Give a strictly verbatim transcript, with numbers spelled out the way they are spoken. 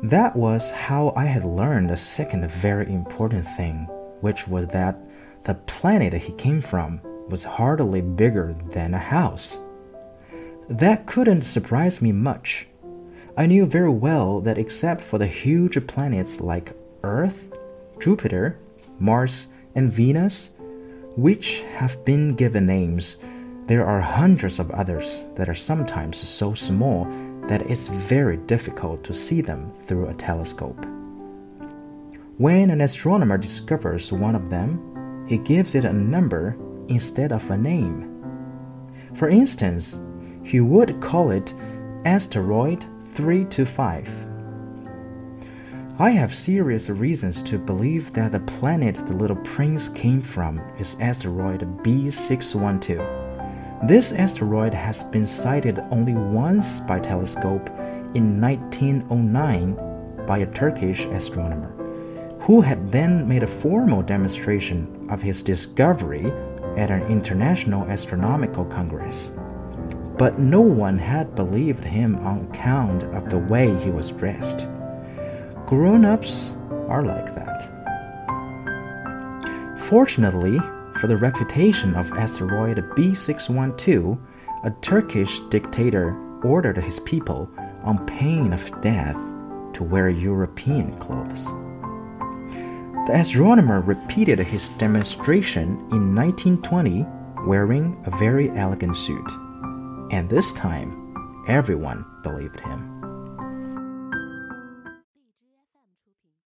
That was how I had learned a second very important thing, which was that the planet he came from was hardly bigger than a house. That couldn't surprise me much. I knew very well that except for the huge planets like Earth, Jupiter, Mars, and Venus, which have been given names, there are hundreds of others that are sometimes so small that it's very difficult to see them through a telescope. When an astronomer discovers one of them, he gives it a number instead of a name. For instance, he would call it asteroid three two five. I have serious reasons to believe that the planet the little prince came from is asteroid B six one two. This asteroid has been sighted only once by telescope in nineteen oh nine by a Turkish astronomer, who had then made a formal demonstration of his discovery at an international astronomical congress. But no one had believed him on account of the way he was dressed. Grown-ups are like that. Fortunately, for the reputation of asteroid B six one two, a Turkish dictator ordered his people, on pain of death, to wear European clothes. The astronomer repeated his demonstration in nineteen twenty, wearing a very elegant suit, and this time everyone believed him.